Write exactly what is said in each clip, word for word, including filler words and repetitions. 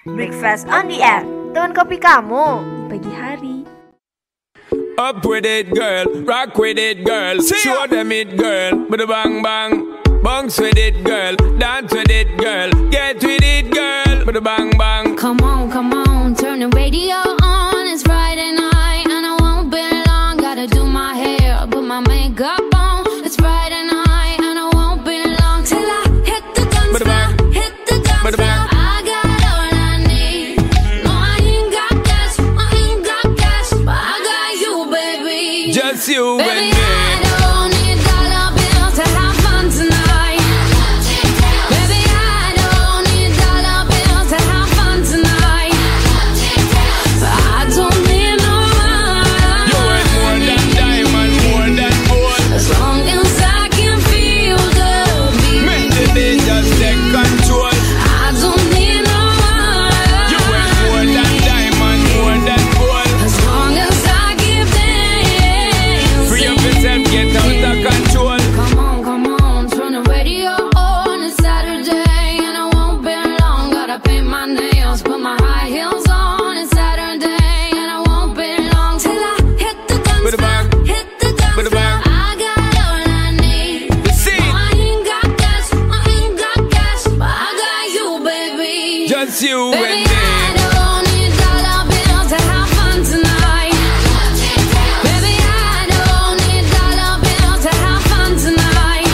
Breakfast on the air, teman kopi kamu di pagi hari. Up with it, girl. Rock with it, girl. Show them it, girl. Bada bang bang. Bounce with it, girl. Dance with it, girl. Get with it, girl. Bada bang bang. Come on, come on, turn the radio on. It's Friday night and I won't be long. Gotta do my hair, put my makeup on. It's Friday night and I won't be long till I hit the dance floor, hit the dance floor. I got all I need. No, I ain't got cash, I ain't got cash, but I got you, baby. Just you baby, and me. I don't need dollar bills to have fun tonight. Baby, I don't need dollar bills to have fun tonight. But I don't need no money. You ain't more than diamond, more than gold. As long as I can feel the beat. Make the beat just take control. I don't need no money. You ain't more than diamond, more than gold. As long as I keep dancing. Free up yourself, get out of control. Come on, come on, turn the radio on. It's Saturday and I won't be long. Gotta paint my nails, put my high heels on. It's Saturday and I won't be long till I hit the dance Bada floor, bang. hit the dance Bada floor. bang. I got all I need. See No, I ain't got cash, I ain't got cash, but I got you, baby. just you Baby, and me. I don't need dollar bills to have fun tonight. Baby, I don't need dollar bills to have fun tonight.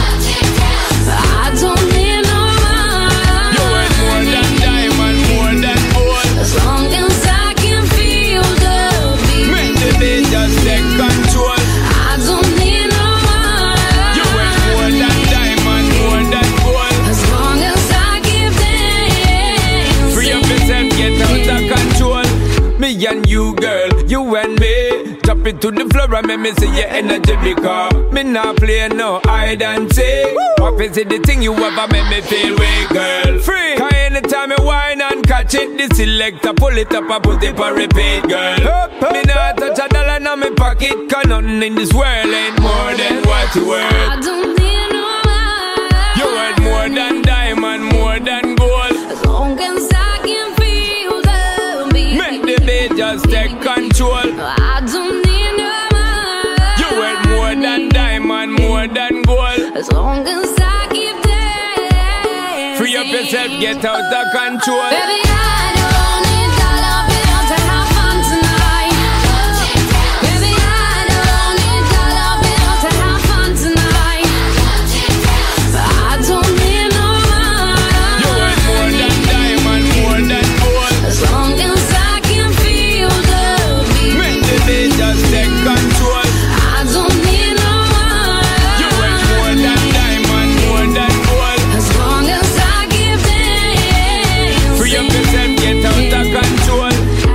I don't need no You ain't more money. than diamond, more than gold. As long as I can feel the beat. Make the beat just take control. I don't need no money. You ain't more than diamond, more than gold. As long as I keep dancing. Free up yourself, get out of control. Me and you, girl, you and me. Drop it to the floor and make me see your energy because me not play no hide and seek. What is it the thing you ever make me feel weak, girl? Free. Cause anytime you whine and catch it, the selector pull it up and put it for repeat, girl. Me not touch a dollar in my pocket, cause nothing in this world ain't more than what you I worth. don't need no money. You worth more than diamond, more than gold. As long as I can feel the beat. Make the beat just take control. I don't need no money. You worth more than diamond, more than gold. As long as I keep dancing. Free up yourself, get out of control. Baby, I don't need dollar bills to have fun tonight. Baby, I don't need dollar bills to have fun tonight. But I don't need no You worth more money. than diamond, more than gold. As long as I can feel the beat. Make the beat just take control. I don't need no You worth more money. than diamond, more than gold. As long as I keep dancing. Free up yourself, get out of control.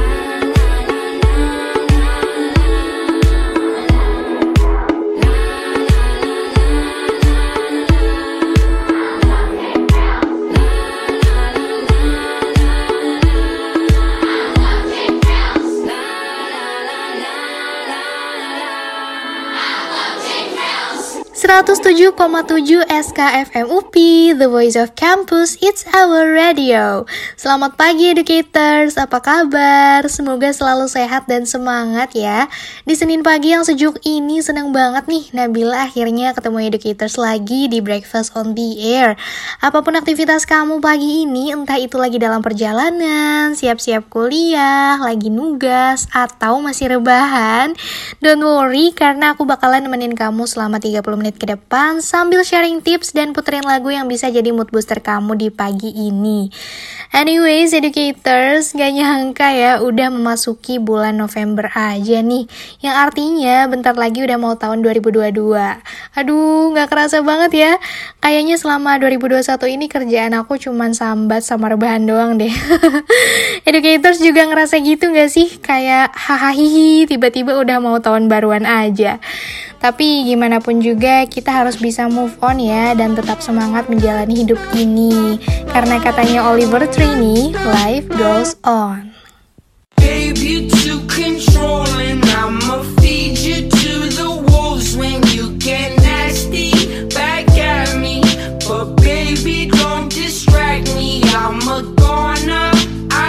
seratus tujuh koma tujuh S K F M U P I, The Voice of Campus, it's our radio. Selamat pagi educators, apa kabar? Semoga selalu sehat dan semangat ya. Di Senin pagi yang sejuk ini senang banget nih Nabila akhirnya ketemu educators lagi di Breakfast on the Air. Apapun aktivitas kamu pagi ini, entah itu lagi dalam perjalanan, siap-siap kuliah, lagi nugas, atau masih rebahan, don't worry karena aku bakalan nemenin kamu selama tiga puluh menit ke depan sambil sharing tips dan puterin lagu yang bisa jadi mood booster kamu di pagi ini. Anyways, educators, gak nyangka ya udah memasuki bulan November aja nih, yang artinya bentar lagi udah mau tahun dua ribu dua puluh dua. Aduh, gak kerasa banget ya. Kayaknya selama dua ribu dua puluh satu ini kerjaan aku cuman sambat sama rebahan doang deh. Educators juga ngerasa gitu gak sih? Kayak hahaha tiba-tiba udah mau tahun baruan aja. Tapi gimana pun juga kita harus bisa move on ya dan tetap semangat menjalani hidup ini. Karena katanya Oliver Tree, life goes on. Babe, you too controlling. I'ma feed you to the wolves when you get nasty back at me. But baby, don't distract me. I'm a goner.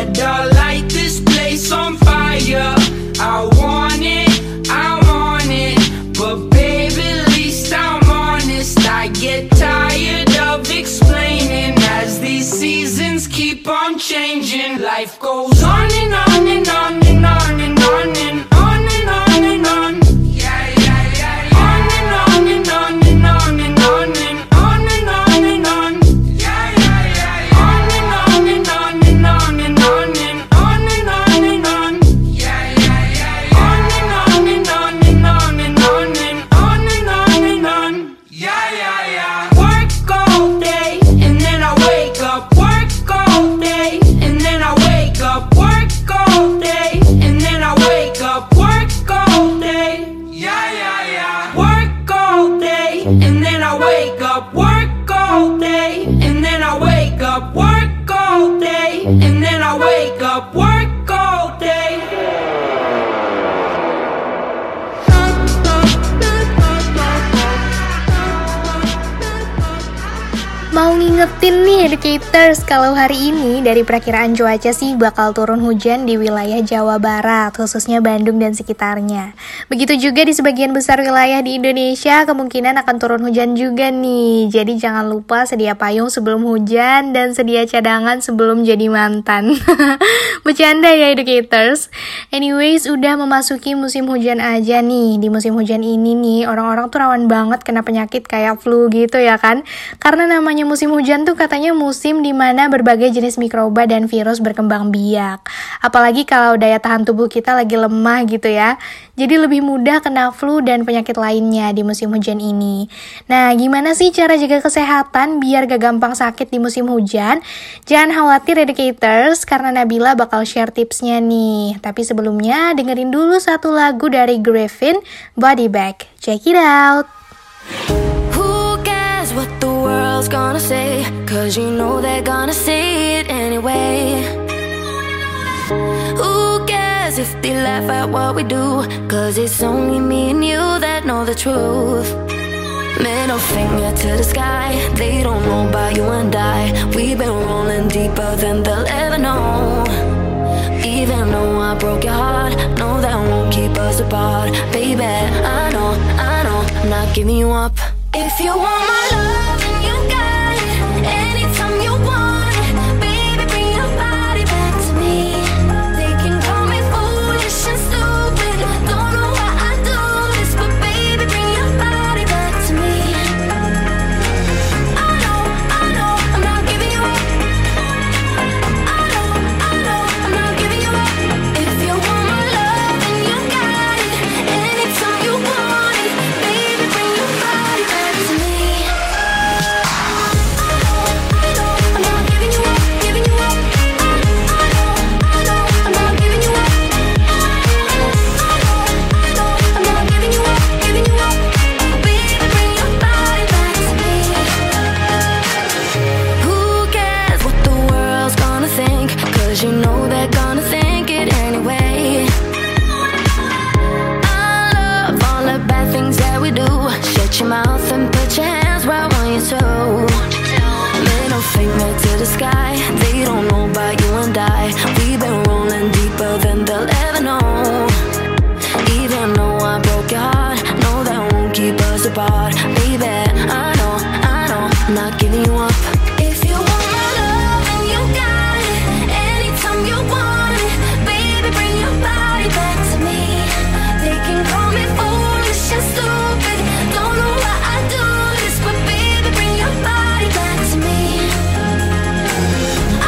better light this place on fire. I want it, I want it, but baby, at least I'm honest. I get tired of explaining as these seasons keep on changing. Life goes on and on and on and on and on and on and on and on. Yeah, yeah, yeah, yeah. On and on and on and on and on and on and on and on. Yeah, yeah, yeah, yeah. On and on and on and on and on and on and on and on. Yeah, yeah, yeah, yeah. On and on and on and on and on and on and on and on. Yeah, yeah, yeah. Work all day and then I wake up. Work all day and then I wake up. Work all day and then I wake up. Work all day. Yeah, yeah, yeah. Work all day and then I wake up. Work all day and then I wake up. Work all day and then I wake up. Work all day. Mau ngingetin nih educators, kalau hari ini dari perakiraan cuaca sih bakal turun hujan di wilayah Jawa Barat, khususnya Bandung dan sekitarnya. Begitu juga di sebagian besar wilayah di Indonesia kemungkinan akan turun hujan juga nih. Jadi jangan lupa sedia payung sebelum hujan dan sedia cadangan sebelum jadi mantan. Bercanda ya educators. Anyways, udah memasuki musim hujan aja nih. Di musim hujan ini nih orang-orang tuh rawan banget kena penyakit kayak flu gitu ya kan. Karena namanya musim hujan tuh katanya musim dimana berbagai jenis mikroba dan virus berkembang biak. Apalagi kalau daya tahan tubuh kita lagi lemah gitu ya. Jadi lebih mudah kena flu dan penyakit lainnya di musim hujan ini. Nah, gimana sih cara jaga kesehatan biar gak gampang sakit di musim hujan? Jangan khawatir educators, karena Nabila bakal share tipsnya nih. Tapi sebelumnya dengerin dulu satu lagu dari Griffin, Body Bag. Check it out. What the world's gonna say, cause you know they're gonna say it anyway. Who cares if they laugh at what we do, cause it's only me and you that know the truth. Middle finger to the sky, they don't know about you and I. We've been rolling deeper than they'll ever know. Even though I broke your heart, no, that won't keep us apart. Baby, I know, I know, I'm not giving you up. If you want my love, then you got it. Anytime you want it, baby, bring your body back to me. They can call me foolish and stupid, don't know why I do this, but baby, bring your body back to me. I know, I know, I'm not giving you up. I know, I know, I'm not giving you up. If you want my love, then you got it. Anytime you want it, baby, bring your body back to me. You know they're gonna think it anyway. I love all the bad things that we do. Shut your mouth and put your hands where I want you to. Middle finger to the sky, they don't know about you and I. We've been rolling deeper than they'll ever know. Even though I broke your heart, no, that won't keep us apart. Baby, I know, I know, I'm not giving you up. If you want my love, then you got it. You want it, baby, bring your body back to me. They can call me foolish and stupid, don't know why I do this, but baby, bring your body back to me.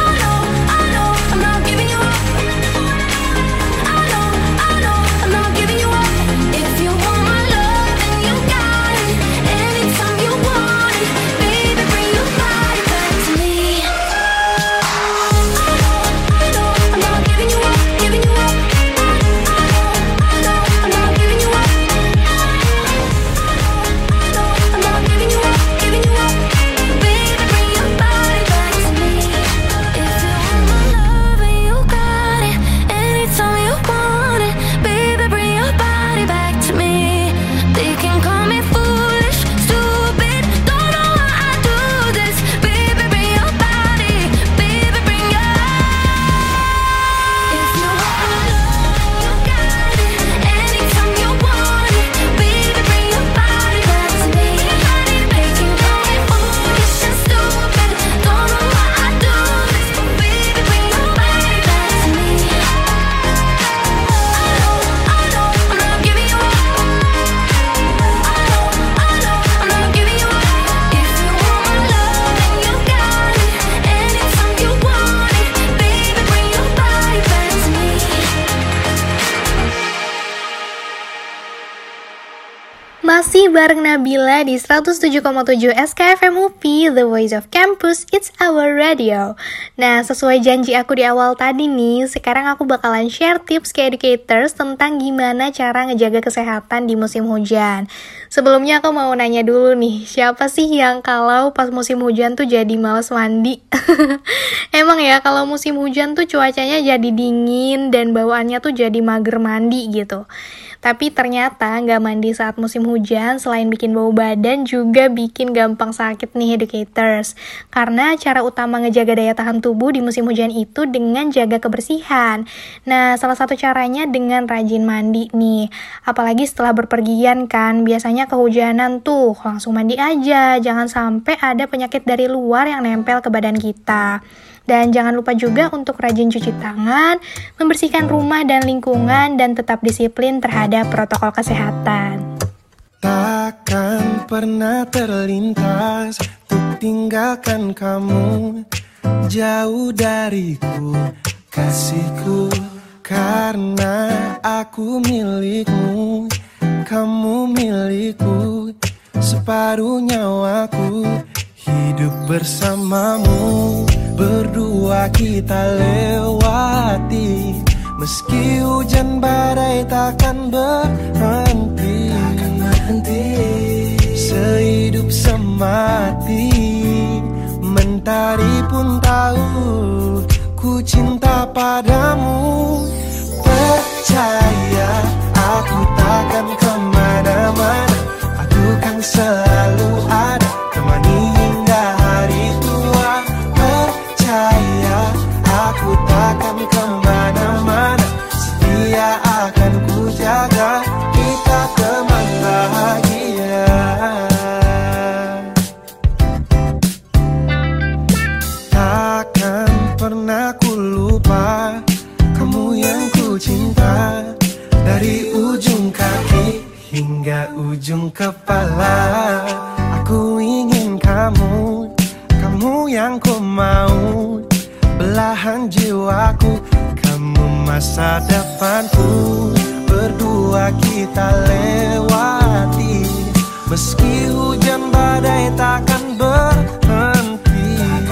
Masih bareng Nabila di seratus tujuh koma tujuh S K F M U P, The Voice of Campus, It's Our Radio. Nah, sesuai janji aku di awal tadi nih, sekarang aku bakalan share tips ke educators tentang gimana cara ngejaga kesehatan di musim hujan. Sebelumnya aku mau nanya dulu nih, siapa sih yang kalau pas musim hujan tuh jadi malas mandi? Emang ya, kalau musim hujan tuh cuacanya jadi dingin dan bawaannya tuh jadi mager mandi gitu. Tapi ternyata nggak mandi saat musim hujan selain bikin bau badan juga bikin gampang sakit nih educators. Karena cara utama ngejaga daya tahan tubuh di musim hujan itu dengan jaga kebersihan. Nah, salah satu caranya dengan rajin mandi nih. Apalagi setelah berpergian kan, biasanya kehujanan tuh langsung mandi aja. Jangan sampai ada penyakit dari luar yang nempel ke badan kita. Dan jangan lupa juga untuk rajin cuci tangan, membersihkan rumah dan lingkungan, dan tetap disiplin terhadap protokol kesehatan. Takkan pernah terlintas untuk tinggalkan kamu jauh dariku, kasihku. Karena aku milikmu, kamu milikku, separuh nyawaku. Hidup bersamamu, berdua kita lewati. Meski hujan badai takkan berhenti, sehidup semati. Mentari pun tahu ku cinta padamu. Percaya aku takkan kemana-mana, aku kan selalu ada, temani hingga hari tua. Percaya aku takkan kemana-mana, setia akan ku jaga, kita teman bahagia. Takkan pernah ku lupa kamu yang ku cinta, dari ujung kaki hingga ujung kepala. Aku ingin kamu, kamu yang ku mau, belahan jiwaku, kamu masa depanku. Berdua kita lewati, meski hujan badai takkan berhenti,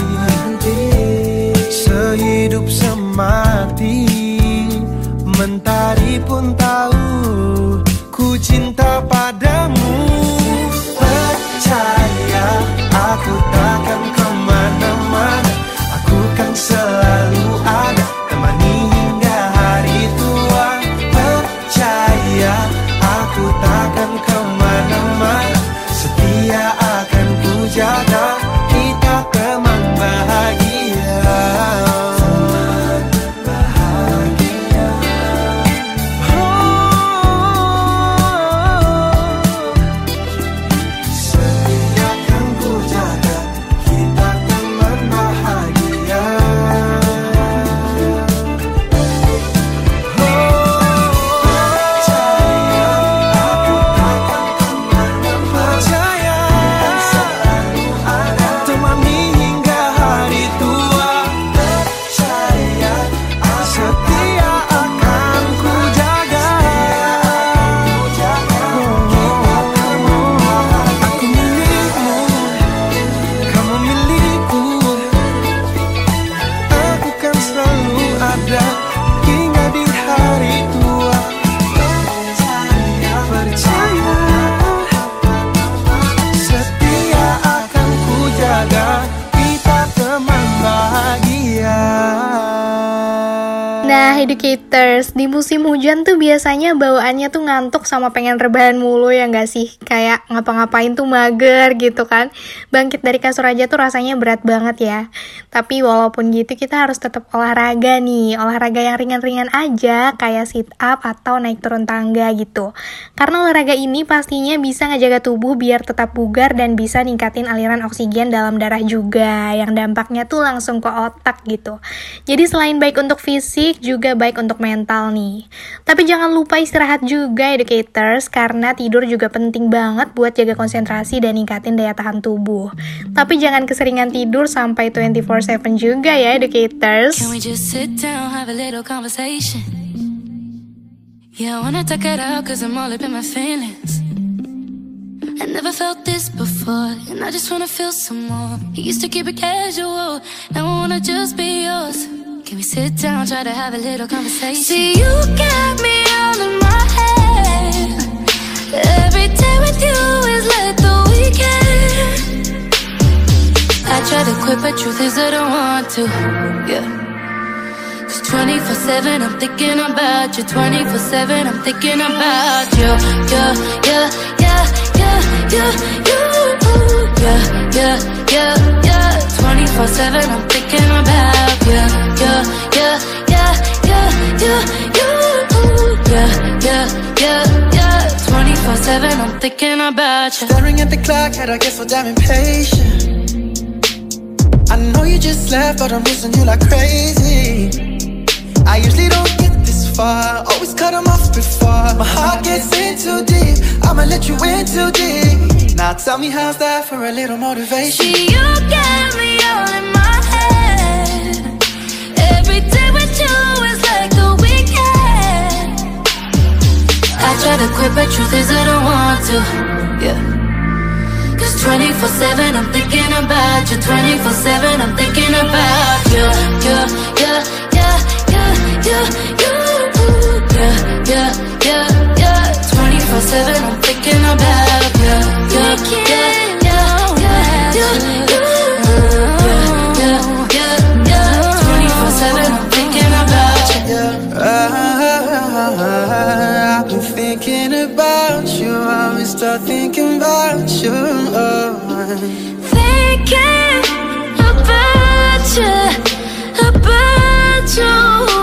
sehidup semati. Mentari pun tahu ku cinta padamu. Percaya aku takkan kemana-mana, aku kan selalu ada, temani hingga hari tua. Percaya aku takkan kemana-mana, setia akan ku jaga, kita teman bahagia. Nah, educators, di musim hujan tuh biasanya bawaannya tuh ngantuk sama pengen rebahan mulu ya nggak sih? Kayak ngapa-ngapain tuh mager gitu kan. Bangkit dari kasur aja tuh rasanya berat banget ya. Tapi walaupun gitu kita harus tetap olahraga nih. Olahraga yang ringan-ringan aja kayak sit up atau naik turun tangga gitu. Karena olahraga ini pastinya bisa ngejaga tubuh biar tetap bugar dan bisa ningkatin aliran oksigen dalam darah juga. Yang dampaknya tuh langsung ke otak gitu. Jadi selain baik untuk fisik, juga baik untuk mental nih. Tapi jangan lupa istirahat juga educators, karena tidur juga penting banget buat jaga konsentrasi dan ningkatin daya tahan tubuh. Tapi jangan keseringan tidur sampai dua puluh empat jam juga ya educators. Can we just sit down, have a little conversation? Yeah, I wanna talk it out cause I'm all up in my feelings. I never felt this before, and I just wanna feel some more. You used to keep it casual, now I wanna just be yours. Can we sit down, try to have a little conversation? See, you got me all in my head. Every day with you is like the weekend. I try to quit, but truth is I don't want to, yeah. Cause twenty-four seven I'm thinking about you, twenty-four seven I'm thinking about you, yeah, yeah, yeah, yeah, yeah, you, yeah, yeah, yeah, yeah. twenty-four seven I'm thinking about you, yeah, yeah, yeah, yeah, yeah, you, yeah, yeah, yeah, yeah. twenty-four seven I'm thinking about you. Staring at the clock, had I get so damn impatient. I know you just left, but I'm missing you like crazy. I usually don't get this far, always cut them off before my heart gets in too deep. I'ma let you in too deep. Now tell me how's that for a little motivation? See, you got me all in my head. Every day with you is like the weekend. I try to quit, but truth is I don't want to, yeah. Cause twenty-four seven I'm thinking about you, twenty-four seven I'm thinking about you, yeah, yeah, yeah, yeah, yeah, you, yeah, yeah, yeah, yeah. twenty-four seven I'm thinking about you, yeah, yeah, yeah, yeah, yeah, you, yeah, yeah, yeah, twenty-four seven I'm thinking about you. I've been thinking about you, I always start thinking about you. Thinking about you, about you.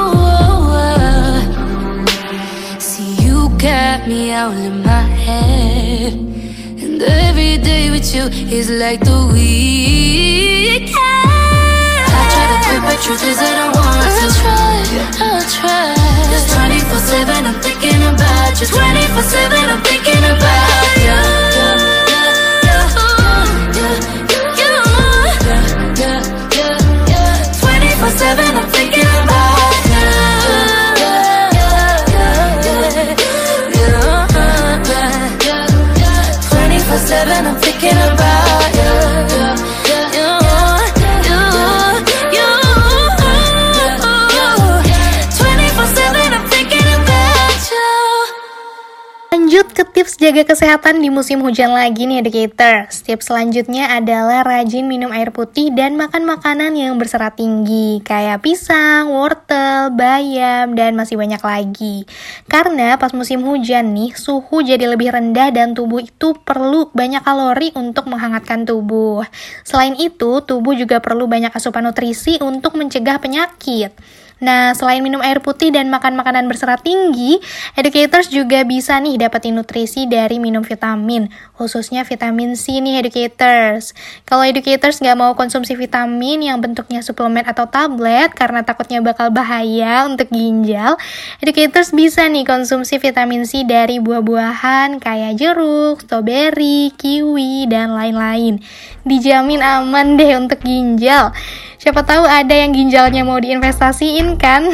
See, you got me all in my head, and every day with you is like the weekend. I try to quit, but truth is I don't want to. I'll try, I'll try. Cause twenty-four seven I'm thinking about you, twenty-four seven I'm thinking about you. twenty-four seven I'm thinking about you. twenty-four seven I'm thinking about you. twenty-four seven I'm thinking about you. Lanjut ke tips jaga kesehatan di musim hujan lagi nih educators. Tips selanjutnya adalah rajin minum air putih dan makan makanan yang berserat tinggi kayak pisang, wortel, bayam, dan masih banyak lagi. Karena pas musim hujan nih, suhu jadi lebih rendah dan tubuh itu perlu banyak kalori untuk menghangatkan tubuh. Selain itu, tubuh juga perlu banyak asupan nutrisi untuk mencegah penyakit. Nah, selain minum air putih dan makan makanan berserat tinggi, educators juga bisa nih dapetin nutrisi dari minum vitamin, khususnya vitamin C nih educators. Kalau educators nggak mau konsumsi vitamin yang bentuknya suplemen atau tablet karena takutnya bakal bahaya untuk ginjal, educators bisa nih konsumsi vitamin C dari buah-buahan kayak jeruk, strawberry, kiwi, dan lain-lain. Dijamin aman deh untuk ginjal. Siapa tahu ada yang ginjalnya mau diinvestasiin kan?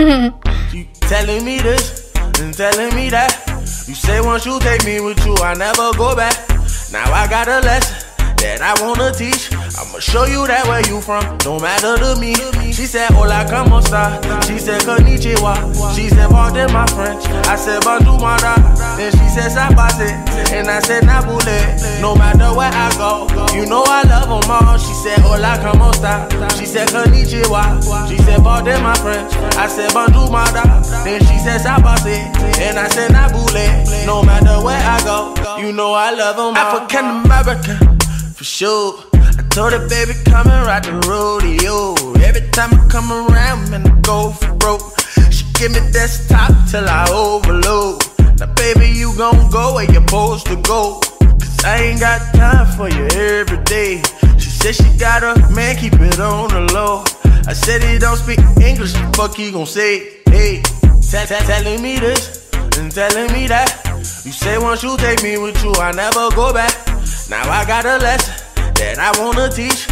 You telling me this and telling me that. You say once you take me with you, I never go back. Now I got a lesson that I wanna teach. I'ma show you that where you from, no matter to me. She said, hola, como esta? She said, konnichiwa. She said, pardon my French. I said, bonjour, mara. Then she said, sabase. And I said, nabule. No matter where I go, you know I love them all. She said, hola, como esta? She said, konnichiwa. She said, pardon my French. I said, bonjour, mara. Then she said, sabase. And I said, nabule. No matter where I go, you know I love them all. African American, for sure. I told her, baby, come and ride the rodeo. Every time I come around, man, I go for broke. She give me desktop till I overload. Now, baby, you gon' go where you're supposed to go. Cause I ain't got time for you every day. She said she got a man, keep it on the low. I said he don't speak English, the fuck he gon' say? Hey, t- t- telling me this and telling me that. You say once you take me with you, I never go back. Now I got a lesson that I wanna teach. I'ma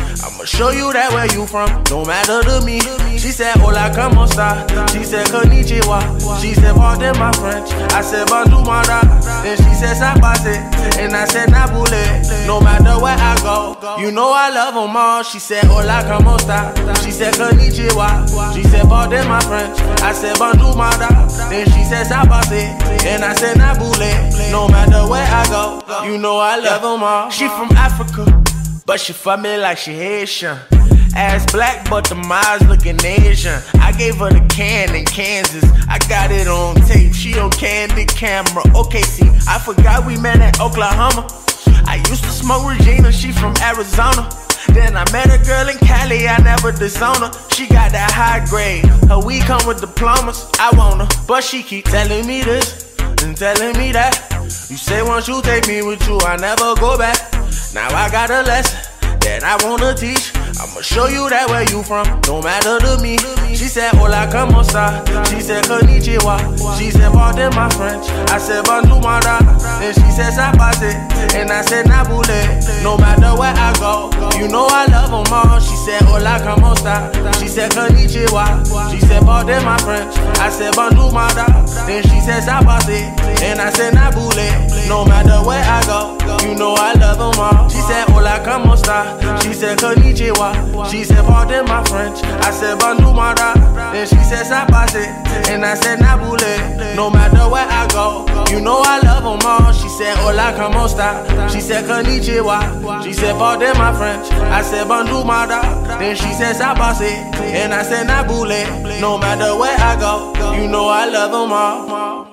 I'ma show you that where you from, don't matter to me. She said, hola, como esta? She said, konnichiwa. She said, pardon my French. I said, bonjour, mara. Then she said, sabase. And I said, nabule. No matter where I go, you know I love them all. She said, hola, como esta? She said, konnichiwa. She said, pardon my French. I said, bonjour, mara. Then she said, sabase. And I said, nabule. No matter where I go, you know I love them all. She from Africa, but she fuck me like she Haitian. Ass black, but the eyes looking Asian. I gave her the can in Kansas. I got it on tape. She on candid camera. Okay, see, I forgot we met at Oklahoma. I used to smoke Regina. She from Arizona. Then I met a girl in Cali. I never disown her. She got that high grade. Her weed come with diplomas. I want her, but she keep telling me this and telling me that. You say once you take me with you, I never go back. Now I got a lesson that I wanna teach. I'ma show you that where you from, don't matter to me. She said, hola, como esta? She said, konnichiwa. She said, pardon my French. I said, bonjour, mara. Then she said, sabase. And I said, nabule. No matter where I go, you know I love them all. She said, hola, como esta? She said, konnichiwa. She said, pardon my French. I said, bonjour, mara. Then she said, sabase. And I said, nabule. No matter where I go, you know I love them all. She said, hola, como esta? She said, konnichiwa. She said, pardon my French. I said, bonjour, mara. Then she said, sabase. And I said, nabule. No matter where I go, you know I love them all. She said, hola, como esta? She said, konnichiwa. She said, pardon my French. I said, bonjour, mara. Then she said, sabase. And I said, nabule. No matter where I go, you know I love them all.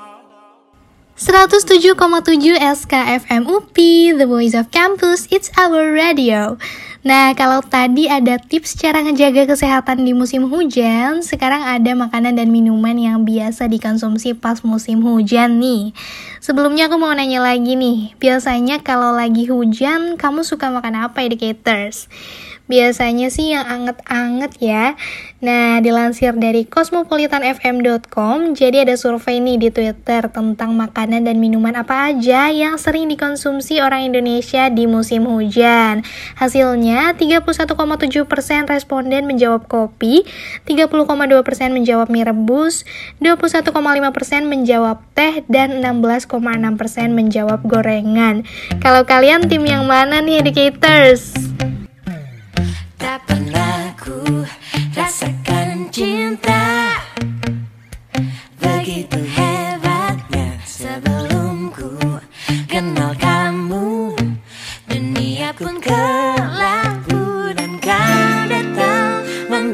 seratus tujuh koma tujuh S K F M U P, The Voice of Campus, It's Our Radio. Nah, kalau tadi ada tips cara ngejaga kesehatan di musim hujan, sekarang ada makanan dan minuman yang biasa dikonsumsi pas musim hujan nih. Sebelumnya aku mau nanya lagi nih, biasanya kalau lagi hujan, kamu suka makan apa, educators? Biasanya sih yang anget-anget ya. Nah, dilansir dari cosmopolitan f m dot com, jadi ada survei nih di Twitter tentang makanan dan minuman apa aja yang sering dikonsumsi orang Indonesia di musim hujan. Hasilnya, tiga puluh satu koma tujuh persen responden menjawab kopi, tiga puluh koma dua persen menjawab mie rebus, dua puluh satu koma lima persen menjawab teh, dan enam belas koma enam persen menjawab gorengan. Kalau kalian tim yang mana nih, educators? Tak pernah ku rasakan cinta begitu hebatnya sebelum ku kenal kamu. Dunia pun kelabu dan kau datang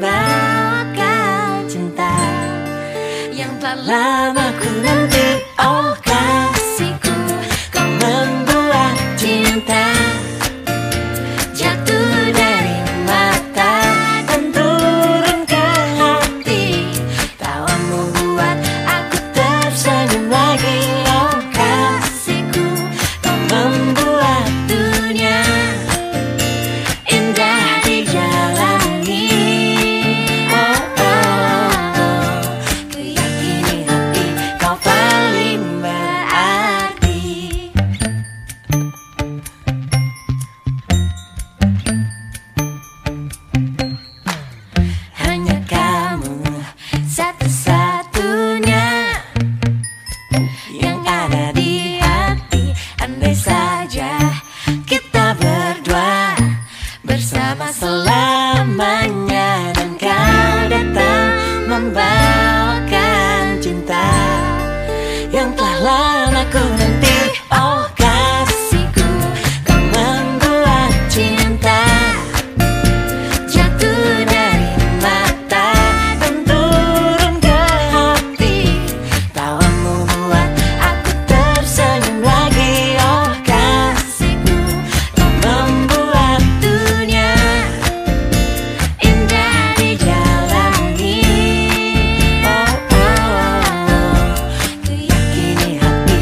membawa cinta yang telah lama ku nanti. Oh kasihku, kau membuat cinta jatuh dari mata dan turun ke hati. Tawamu buat aku tersenyum lagi. Oh kasihku, kau membuat dunia indah dijalani. Oh oh oh, ku yakini hati kau paling berarti. Hanya kamu satu-satunya yang ada di hati. Andai saja kita berdua bersama selamanya dan kau datang membawakan cinta yang telah lama ku nanti. Oh kasihku, kau membuat cinta jatuh dari mata dan turun ke hati. Tawamu buat aku tersenyum lagi. Oh kasihku, kau membuat dunia indah dijalani. Oh oh oh, ku yakini hati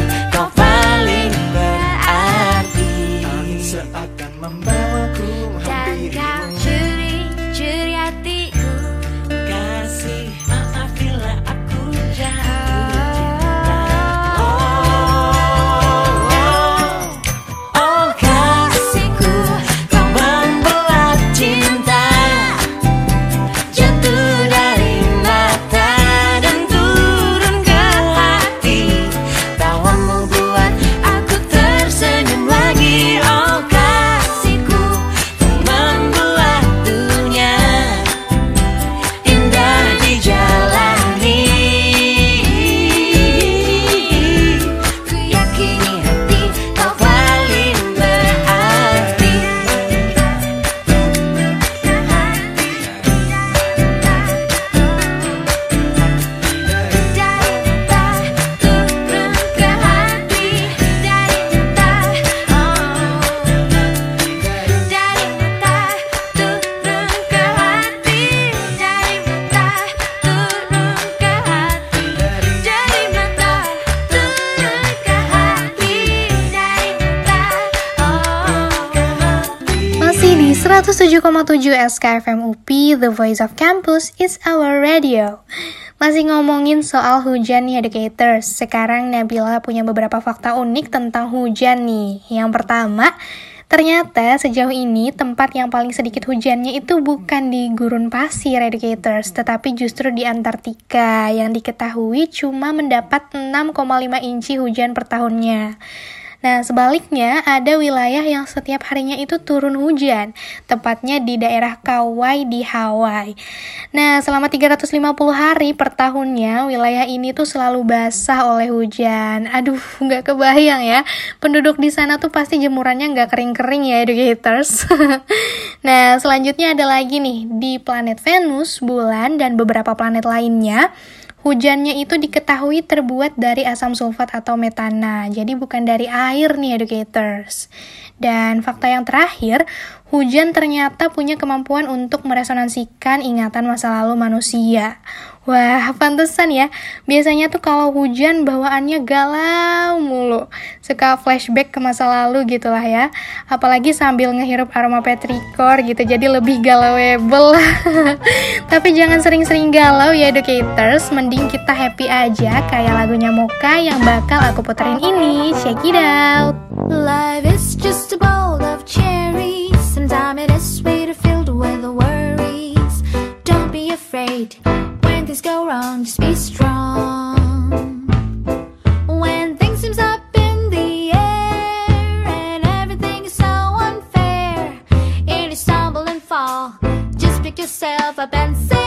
seratus tujuh koma tujuh S K F M U P, The Voice of Campus, It's Our Radio. Masih ngomongin soal hujan nih educators. Sekarang Nabila punya beberapa fakta unik tentang hujan nih. Yang pertama, ternyata sejauh ini tempat yang paling sedikit hujannya itu bukan di gurun pasir educators, tetapi justru di Antartika yang diketahui cuma mendapat enam koma lima inci hujan per tahunnya. Nah, sebaliknya ada wilayah yang setiap harinya itu turun hujan, tepatnya di daerah Kauai di Hawaii. Nah, selama tiga ratus lima puluh hari per tahunnya, wilayah ini tuh selalu basah oleh hujan. Aduh, nggak kebayang ya, penduduk di sana tuh pasti jemurannya nggak kering-kering ya, educators. Nah, selanjutnya ada lagi nih, di planet Venus, bulan, dan beberapa planet lainnya, hujannya itu diketahui terbuat dari asam sulfat atau metana, jadi bukan dari air nih educators. Dan fakta yang terakhir, hujan ternyata punya kemampuan untuk meresonansikan ingatan masa lalu manusia. Wah, pantesan ya, biasanya tuh kalau hujan bawaannya galau mulu, suka flashback ke masa lalu gitulah ya. Apalagi sambil ngehirup aroma petrikor gitu, jadi lebih galauable. Tapi jangan sering-sering galau ya educators, mending kita happy aja kayak lagunya Mocha yang bakal aku puterin ini. Check it out. Life is just a bowl of cherries. Sometimes it is sweet, filled with worries. Don't be afraid. When things go wrong, just be strong. When things seems up in the air and everything is so unfair, and you stumble and fall, just pick yourself up and sing.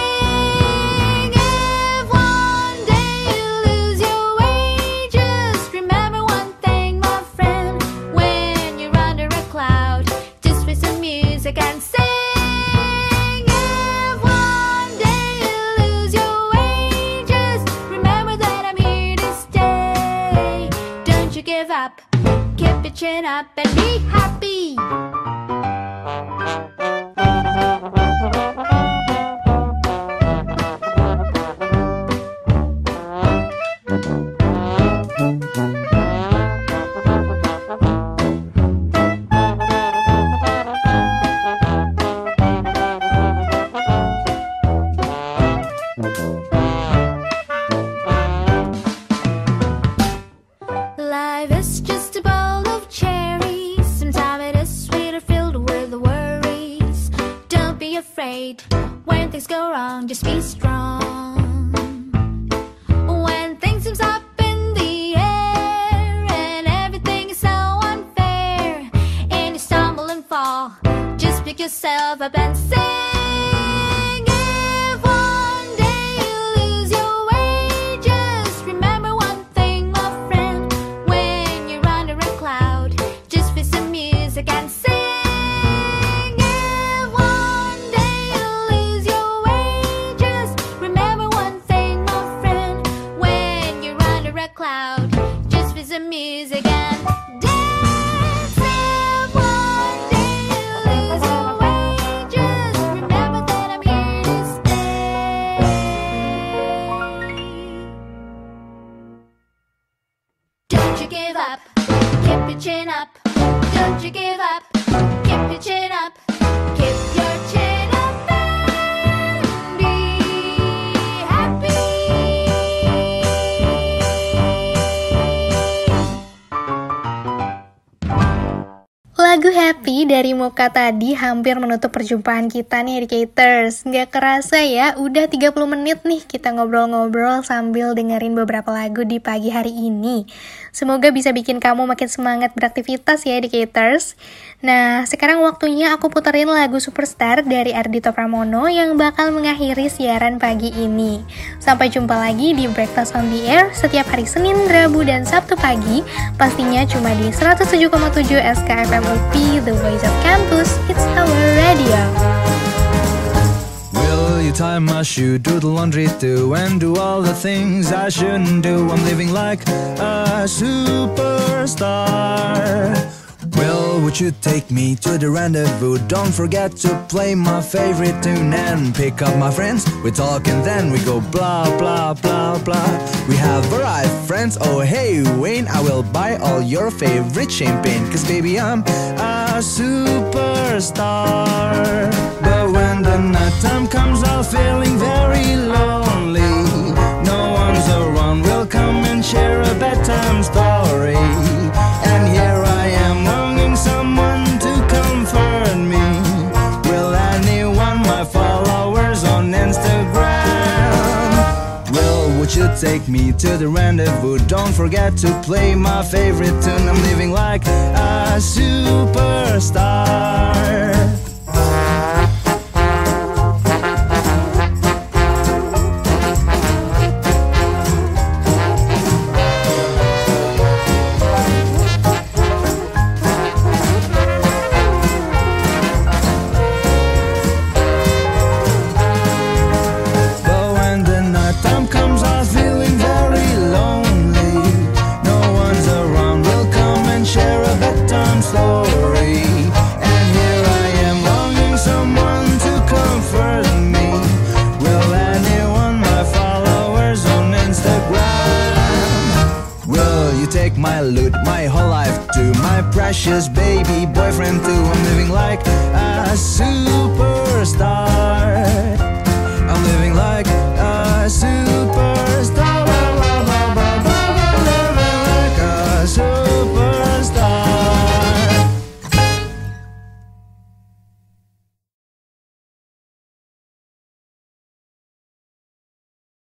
If one day you lose your way, just remember one thing, my friend. When you're under a cloud, just play some music and sing. Keep your chin up and be happy. Life is just a bowl of cherries. Sometimes it is sweet or filled with worries. Don't be afraid. When things go wrong, just be strong. When things seems up in the air and everything is so unfair, and you stumble and fall, just pick yourself up and sing. If one day you lose your way, just remember one thing, my friend. When you're under a cloud, just feel some music and sing. If one day you lose your way, just remember one thing, my friend. When you're under a cloud, just feel some music and dance. If one day you lose your way, just remember that I'm here to stay. Don't you give up, keep your chin up. Don't you give up, keep your chin up. Keep your chin up and be happy. Lagu Happy dari Mocha tadi hampir menutup perjumpaan kita nih educators. Nggak kerasa ya, udah tiga puluh menit nih kita ngobrol-ngobrol sambil dengerin beberapa lagu di pagi hari ini. Semoga bisa bikin kamu makin semangat beraktivitas ya educators. Nah, sekarang waktunya aku puterin lagu Superstar dari Ardhito Pramono yang bakal mengakhiri siaran pagi ini. Sampai jumpa lagi di Breakfast on the Air setiap hari Senin, Rabu, dan Sabtu pagi. Pastinya cuma di seratus tujuh koma tujuh S K F M U P, The Voice of Campus, It's Our Radio. Will you tie my shoe, do the laundry too, and do all the things I shouldn't do? I'm living like a superstar. Well, would you take me to the rendezvous? Don't forget to play my favorite tune and pick up my friends. We talk and then we go blah, blah, blah, blah. We have arrived, friends. Oh, hey, Wayne, I will buy all your favorite champagne. Cause baby, I'm a a superstar. But when the night time comes, I'm feeling very lonely. No one's around, will come and share a bedtime story. And here I am longing someone to comfort me. Will anyone, my followers on Instagram? Well, would you take me to the rendezvous? Don't forget to play my favorite tune. I'm living like a superstar. My loot, my whole life too, my precious baby boyfriend too.